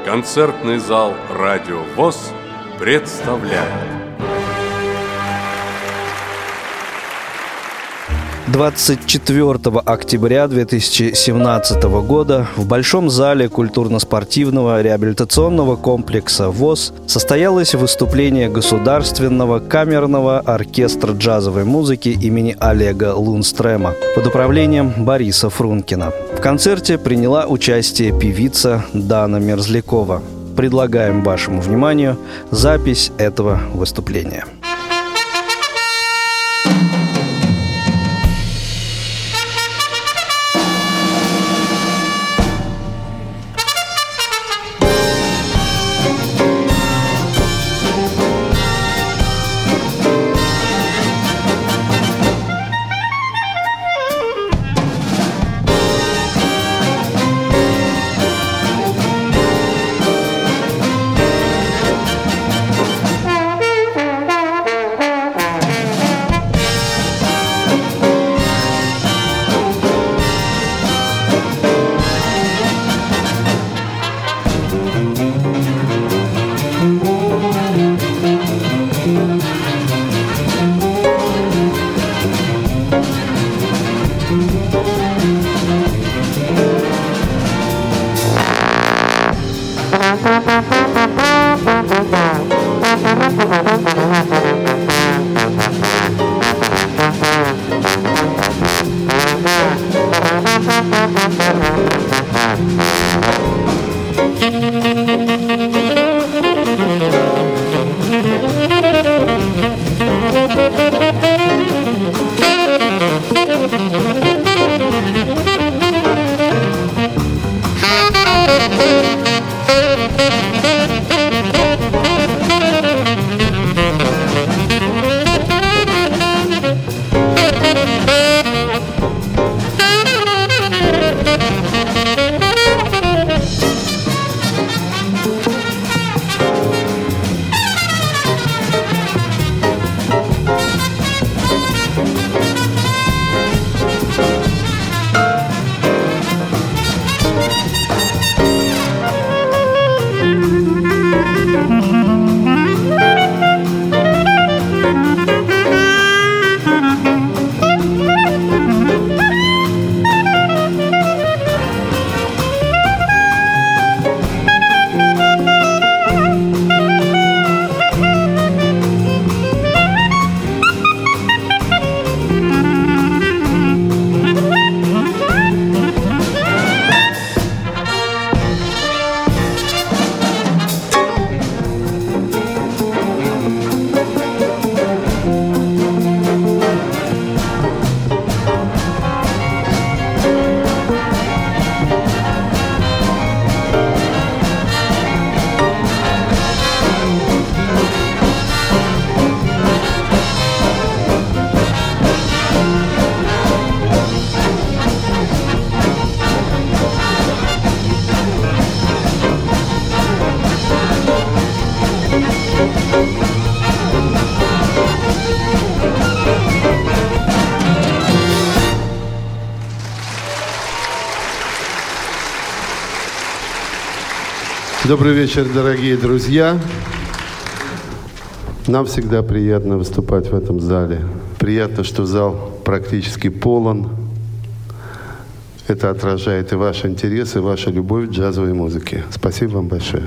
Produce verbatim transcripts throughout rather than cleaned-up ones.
Концертный зал «Радио ВОС» представляет. двадцать четвёртого октября две тысячи семнадцатого года в Большом зале культурно-спортивного реабилитационного комплекса ВОС состоялось выступление Государственного камерного оркестра джазовой музыки имени Олега Лунстрема под управлением Бориса Фрункина. В концерте приняла участие певица Дана Мерзлякова. Предлагаем вашему вниманию запись этого выступления. Добрый вечер, дорогие друзья. Нам всегда приятно выступать в этом зале. Приятно, что зал практически полон. Это отражает и ваш интерес, и ваша любовь к джазовой музыке. Спасибо вам большое.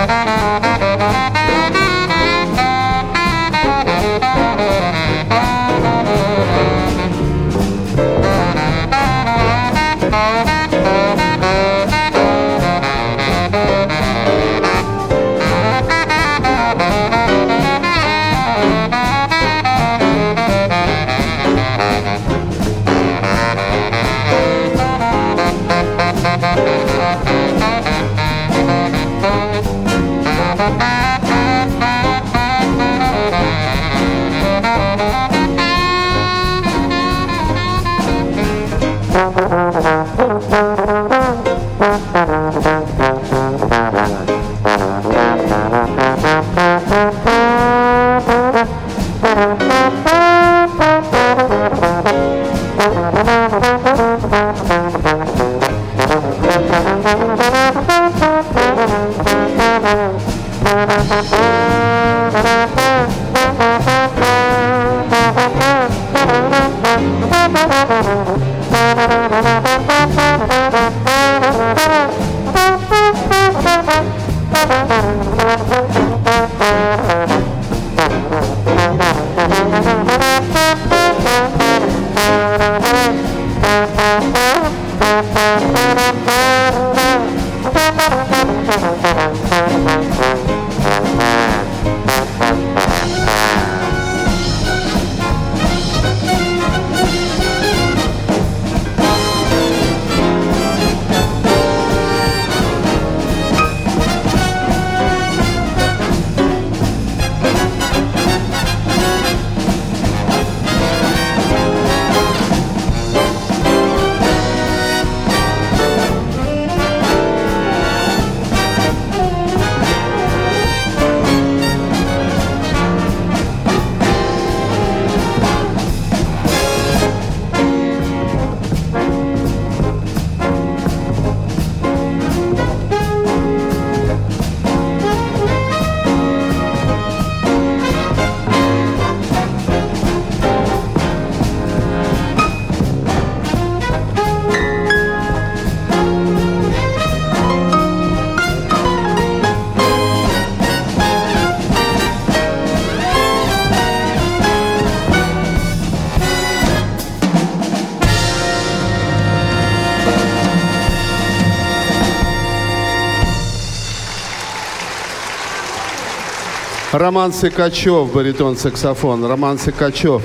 Роман Сыкачев, баритон-саксофон. Роман Сыкачев.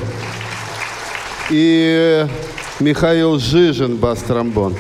И Михаил Жижин, бас-тромбон.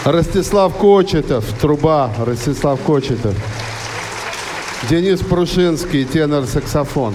Ростислав Кочетов, труба, Ростислав Кочетов. Денис Прушинский, тенор-саксофон.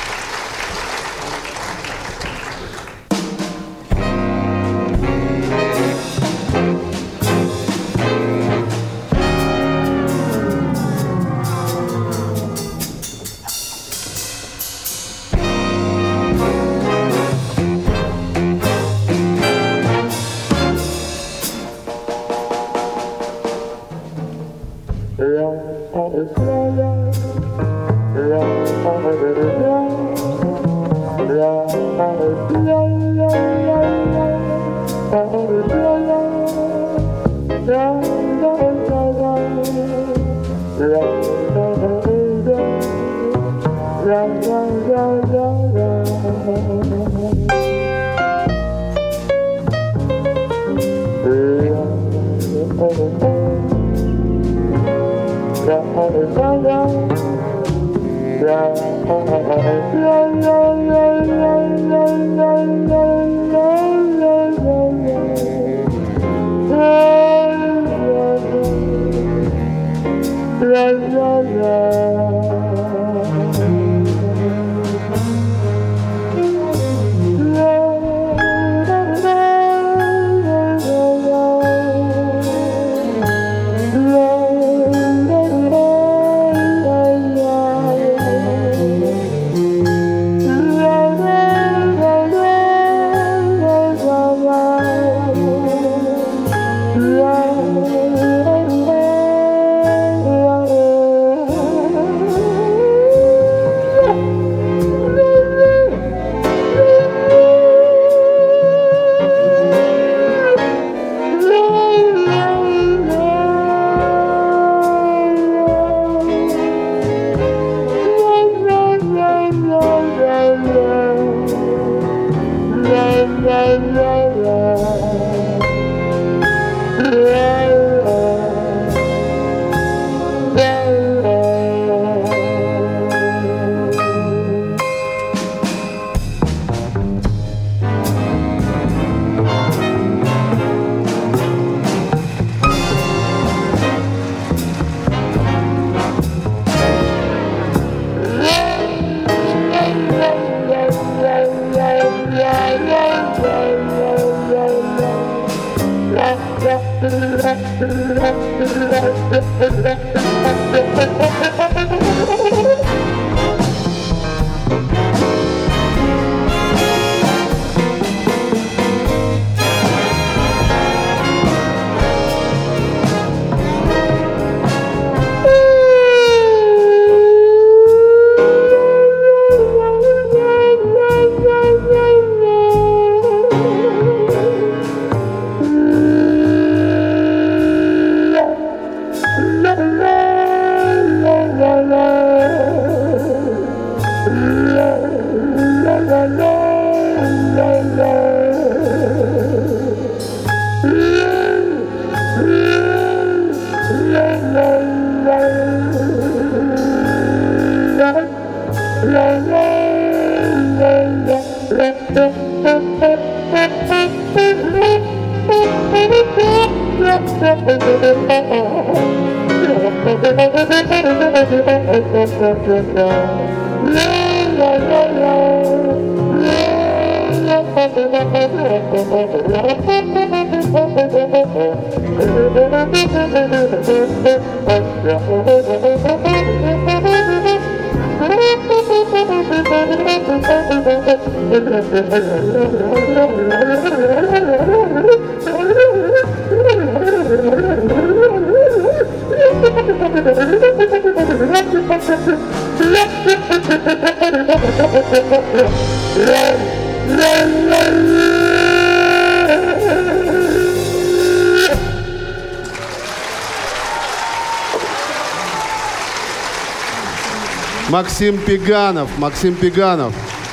Максим Пеганов, Максим Пеганов,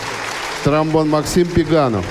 тромбон Максим Пеганов.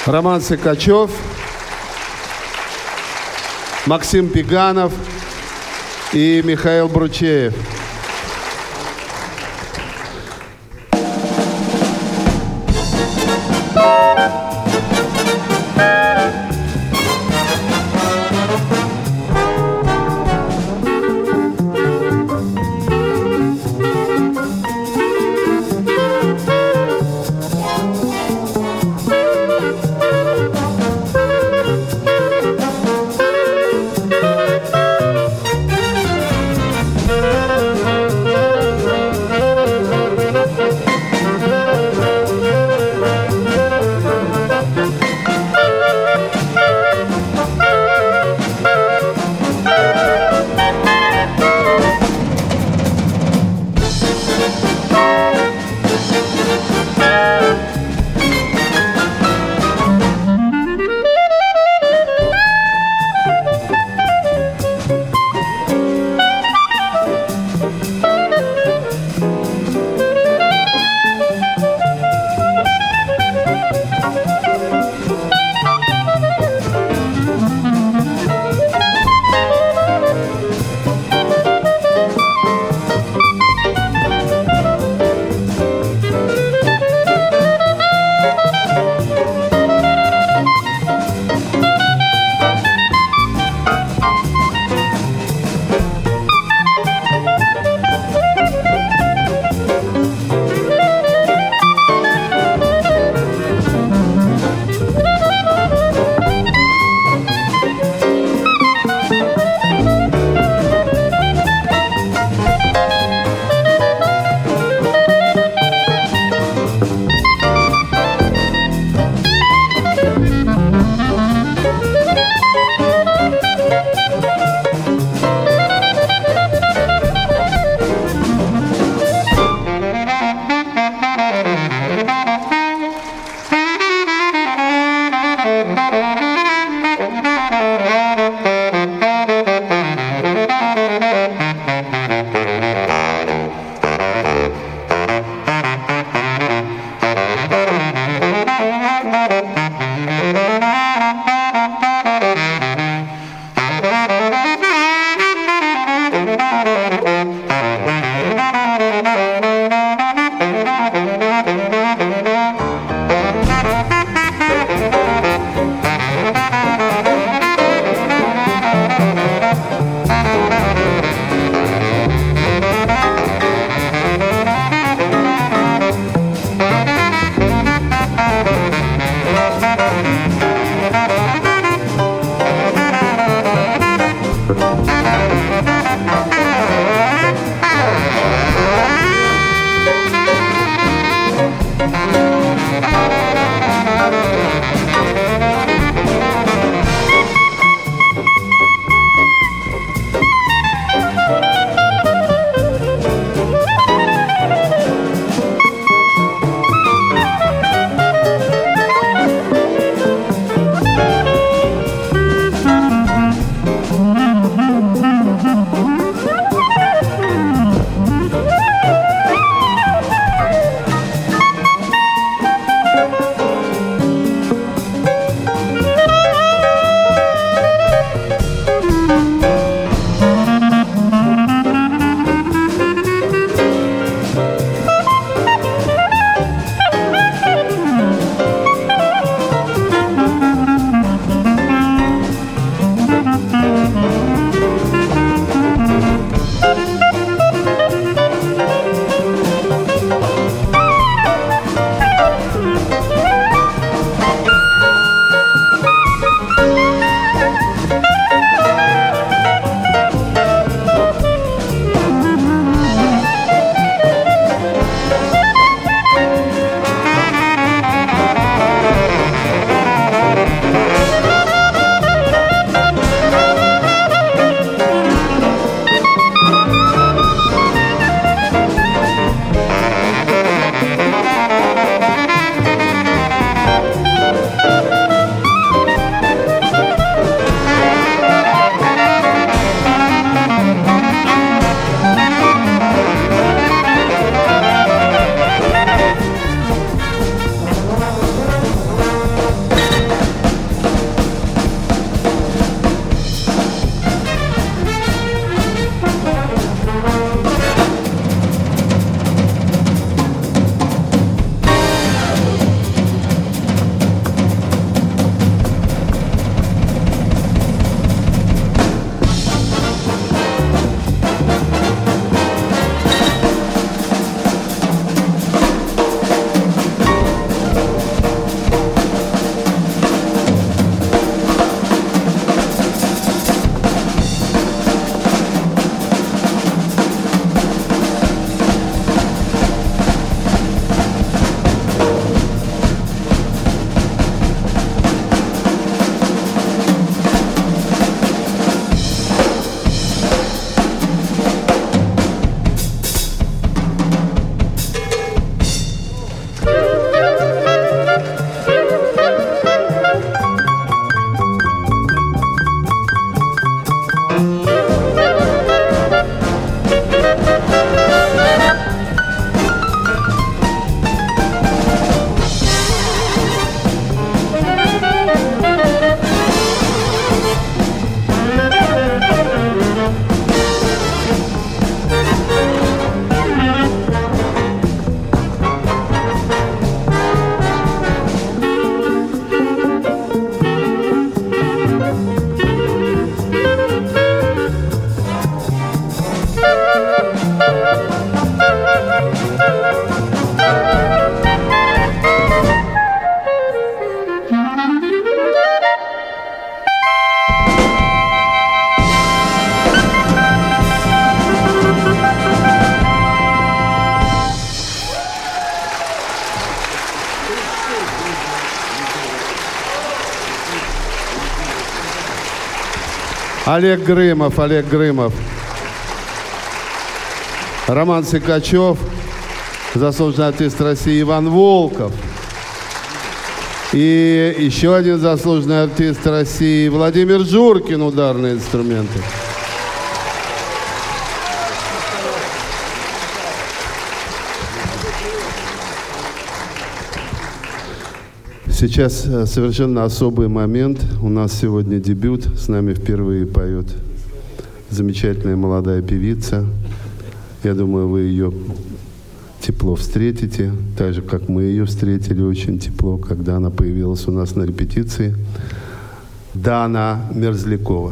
Роман Сыкачев, Максим Пиганов и Михаил Бручеев. Олег Грымов, Олег Грымов. Роман Сикачев, заслуженный артист России Иван Волков. И еще один заслуженный артист России Владимир Журкин, ударные инструменты. Сейчас совершенно особый момент. У нас сегодня дебют. С нами впервые поет замечательная молодая певица. Я думаю, вы ее тепло встретите, так же, как мы ее встретили очень тепло, когда она появилась у нас на репетиции. Дана Мерзлякова.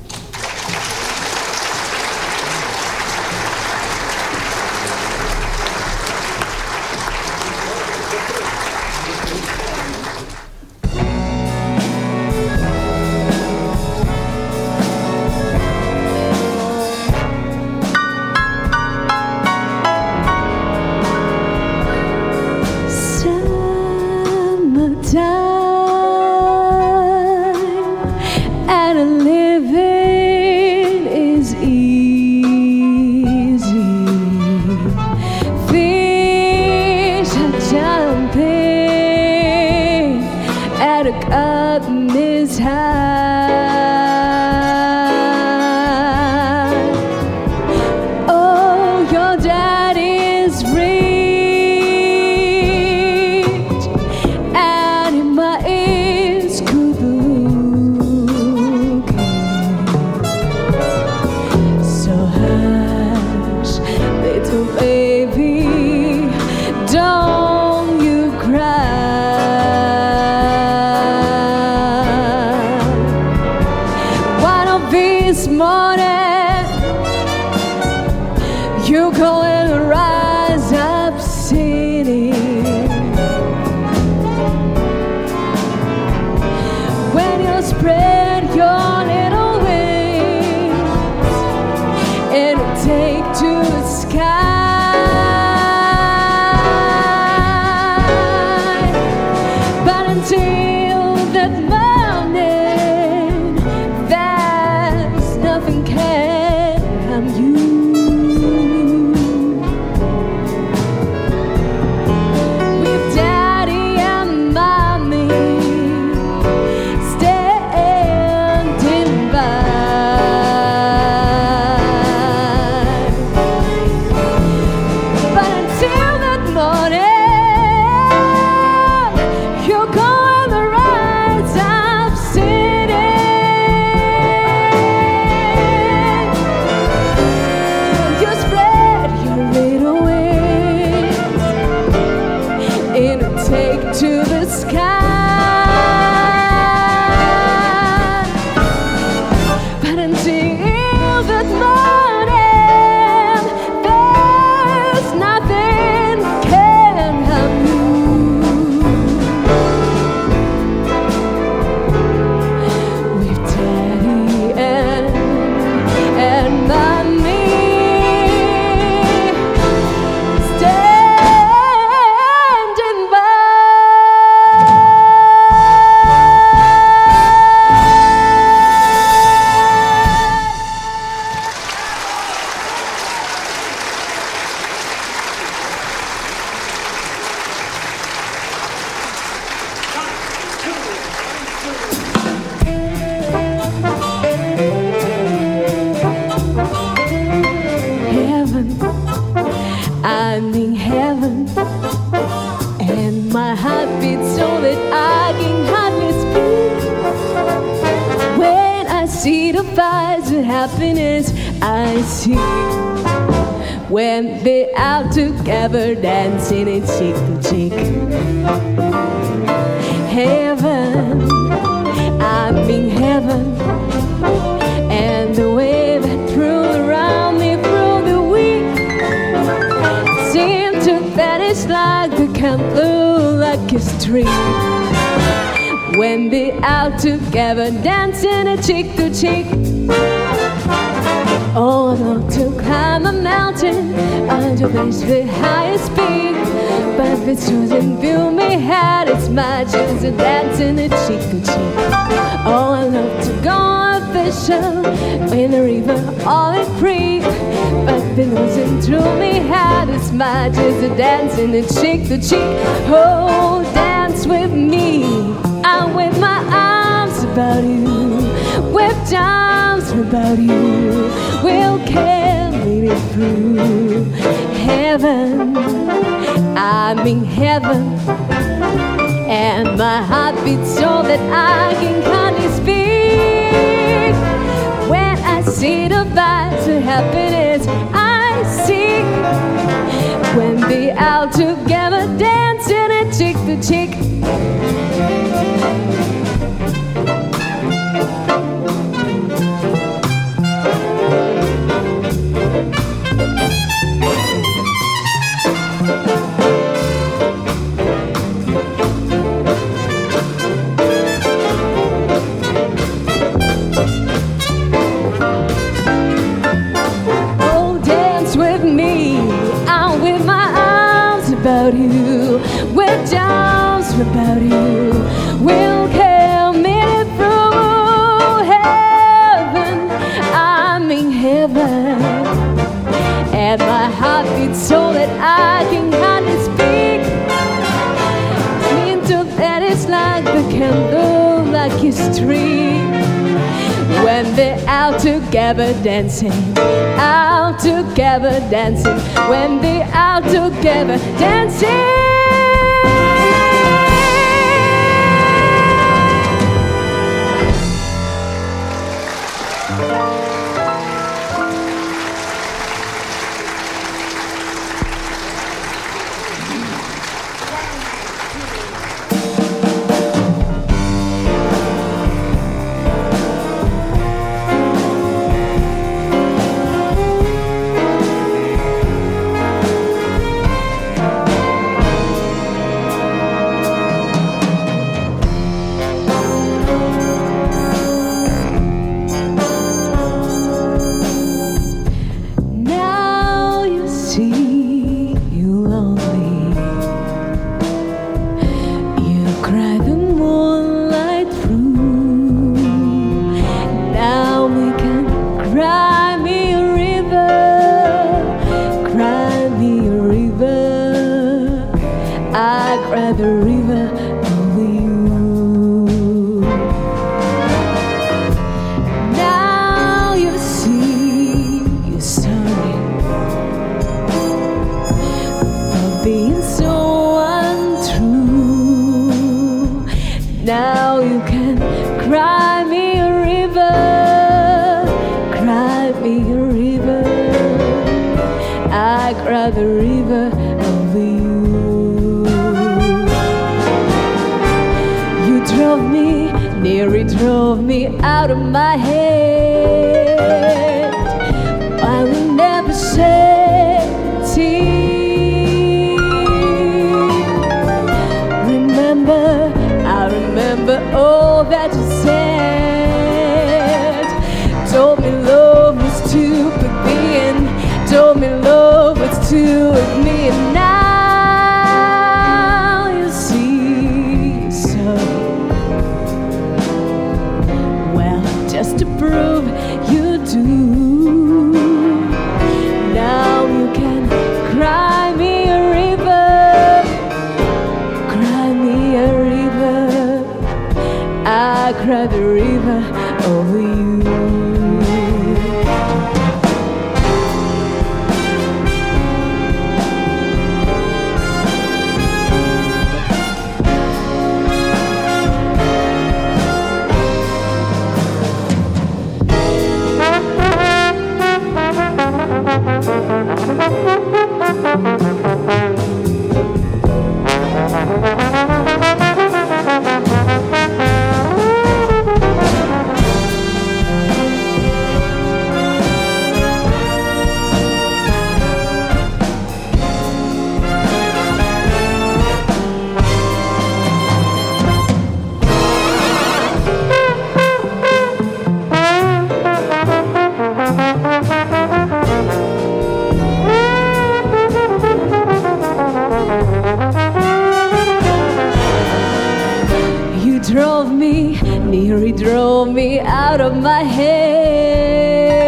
When they're out together dancing and cheek to cheek. Heaven, I'm in heaven, and the way that threw around me through the week seemed to vanish like the candle, like a stream. When they're out together dancing and cheek to cheek. Oh, I'd love to climb a mountain and to reach the highest peak, but if it's choosing view me had it's my choosing dancing a cheek to cheek. Oh, I love to go official in the river, all in free. But the losing through me had as much as a dancing and cheek to cheek. Oh, dance with me, I'm with my arms about you, with arms about you, we'll carry it through heaven. I'm in heaven, and my heart beats so that I can hardly speak. When I see the vibes of happiness I see, when they out together dancing and cheek to cheek. You, with arms about you, we'll carry it through heaven. I'm in heaven, and my heart beats so that I can hardly speak. Into that is like the candle, like history. When they're out together dancing, out together dancing, when they're out together dancing. drove me, nearly drove me out of my head.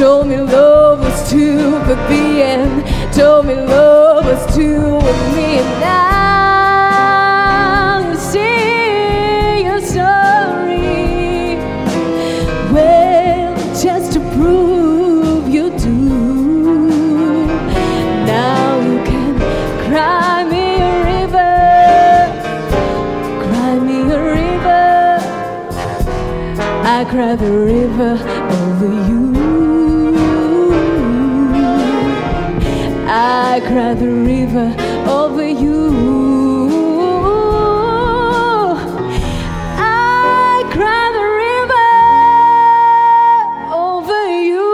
Told me love was two with me and told me love was two with me. And now you see you're sorry. Well, just to prove you do, now you can cry me a river, cry me a river. I cry the river over you. I cry the river over you. I cry the river over you.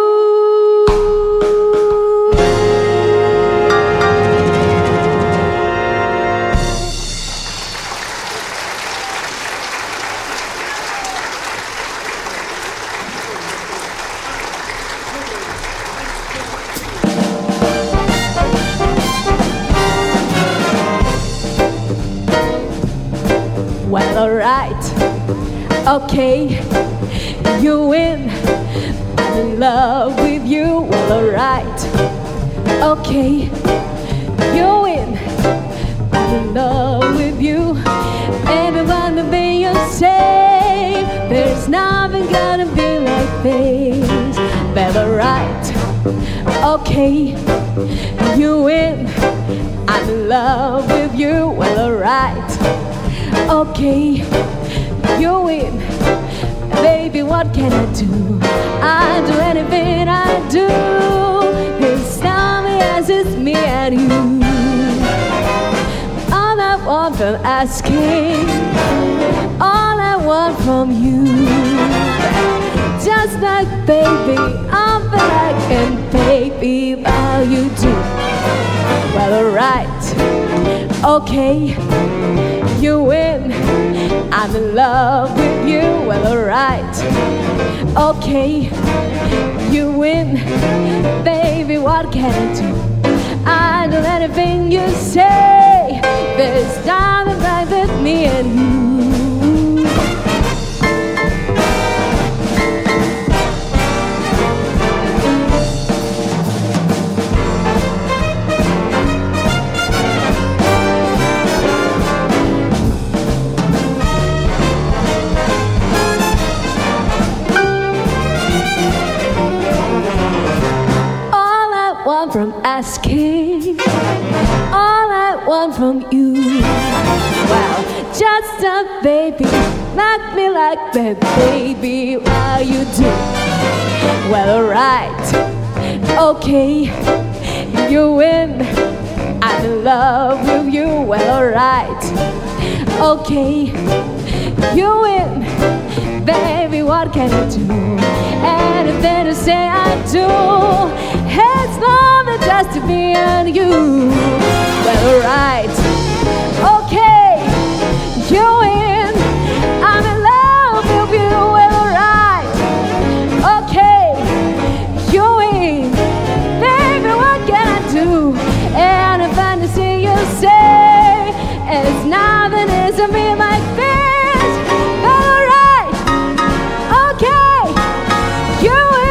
Well, alright, okay, you win. I'm in love with you. Well, alright, okay, you win. I'm in love with you. And about the way you say, there's nothing gonna be like this. Well, alright, okay, you win. I'm in love with you. Well, alright, okay, you win. Baby, what can I do? I do anything I do. It's time as it's me and you. All I want from asking, all I want from you, just like baby, I'm back and baby, how you do? Well, alright, okay, you win. I'm in love with you. Well, alright, okay, you win. Baby, what can I do? I do anything you say. There's nothing like with me and you. From asking, all I want from you. Well, just a baby, like me like that, baby, how you do? Well, alright, okay, you win. I'm in love with you. Well, alright, okay, you win. Baby, what can I do? Anything to say I do. It's more than just to be and you. Well, alright, okay, you win. I'm in love with you. Well, alright, okay, you win. Baby, what can I do? And if I see you say, it's nothing is to me like this. Well, alright, okay, you win.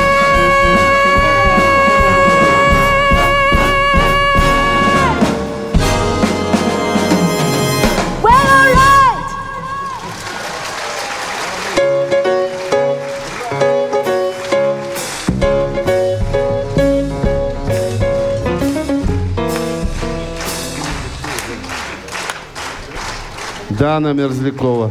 Дана Мерзлякова.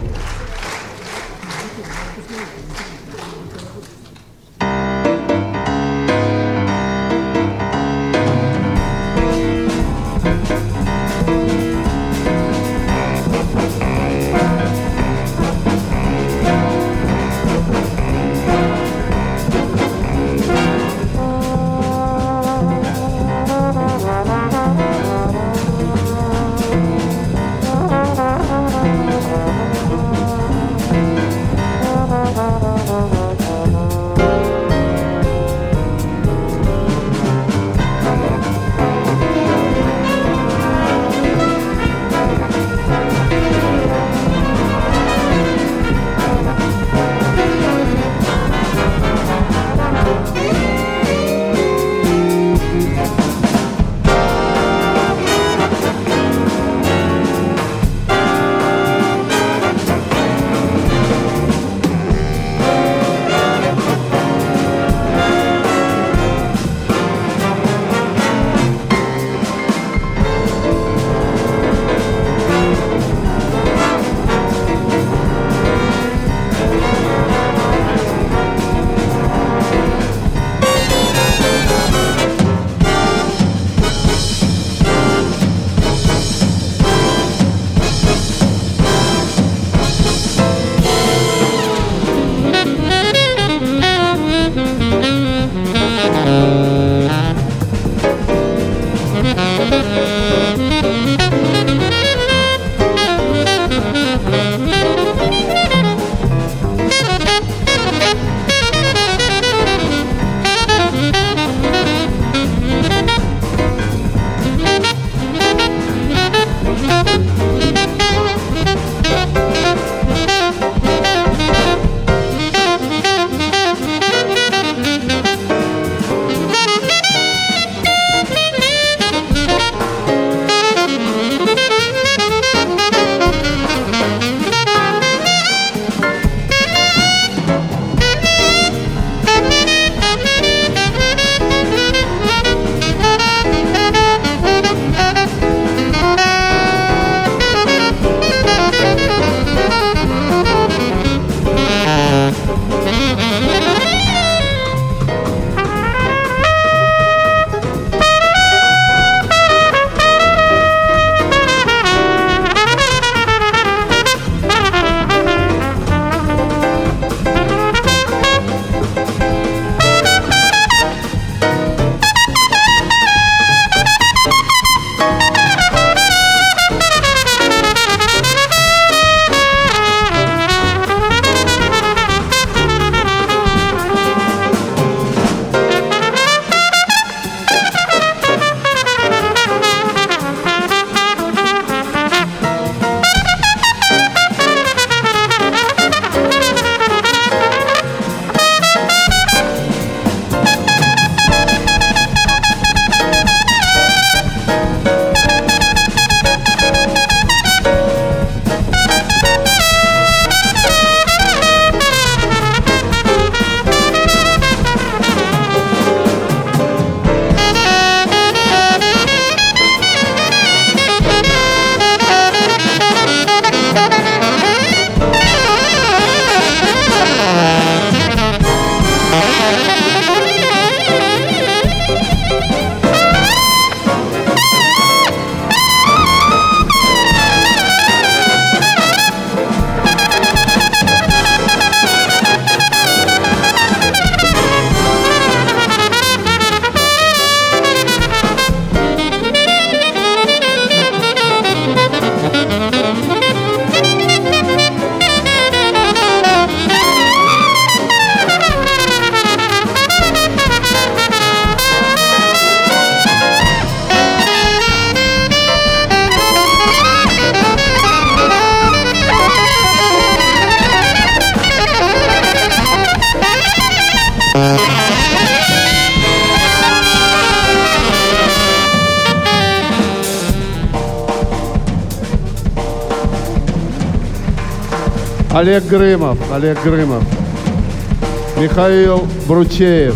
Олег Грымов, Олег Грымов, Михаил Бручеев,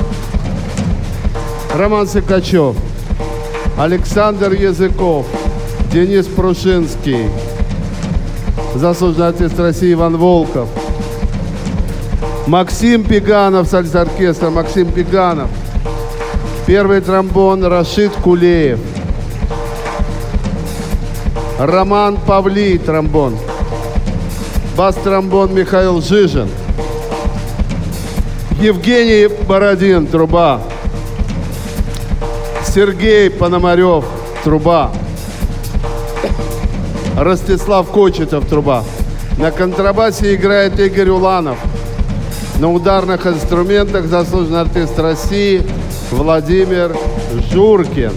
Роман Сыкачев, Александр Языков, Денис Прушинский, заслуженный артист России Иван Волков, Максим Пеганов с альт-оркестром, Максим Пеганов, первый тромбон Рашид Кулеев, Роман Павлий, тромбон, бас-тромбон Михаил Жижин, Евгений Бородин, труба, Сергей Пономарев, труба, Ростислав Кочетов, труба. На контрабасе играет Игорь Уланов. На ударных инструментах заслуженный артист России Владимир Журкин.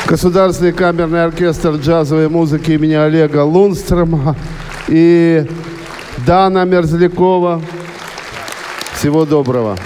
Государственный камерный оркестр джазовой музыки имени Олега Лунстрема и Дана Мерзлякова. Всего доброго.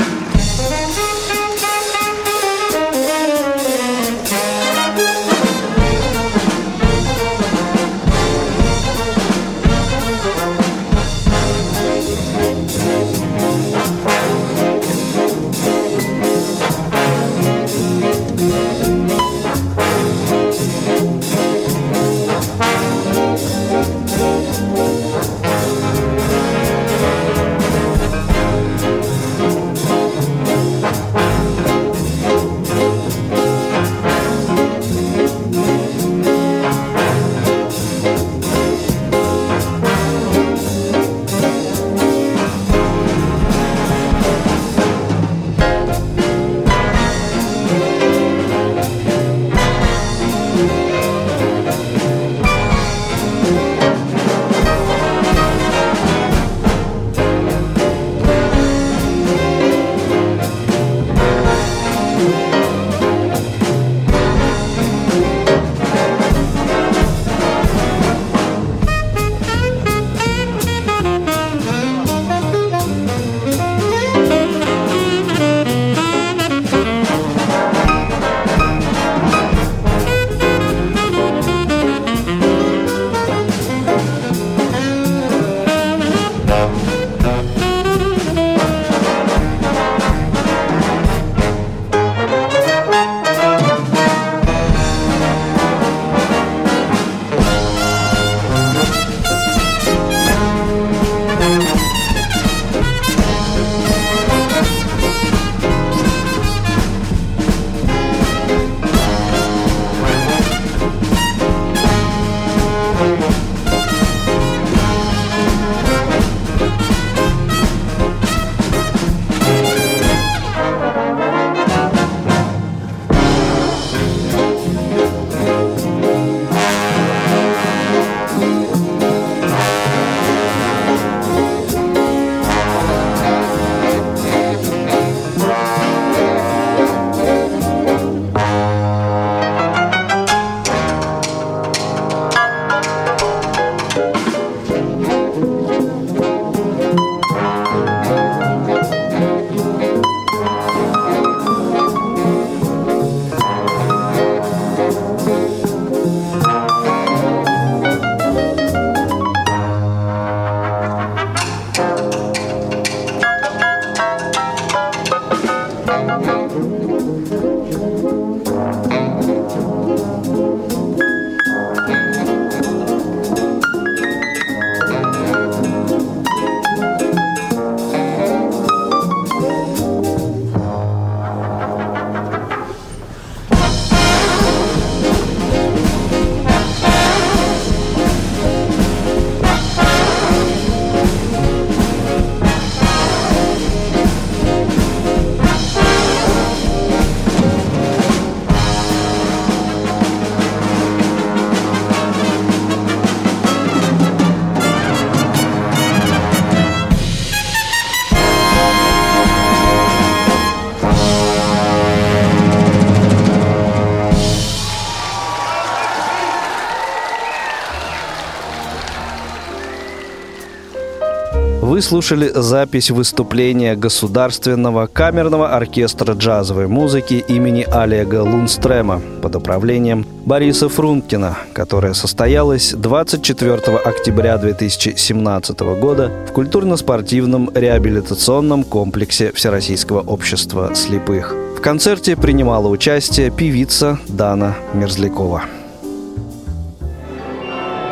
Вы слушали запись выступления Государственного камерного оркестра джазовой музыки имени Олега Лунстрема под управлением Бориса Фрункина, которая состоялась двадцать четвёртого октября две тысячи семнадцатого года в культурно-спортивном реабилитационном комплексе Всероссийского общества слепых. В концерте принимала участие певица Дана Мерзлякова.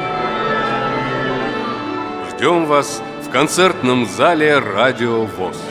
Ждем вас в концертном зале «Радио ВОС».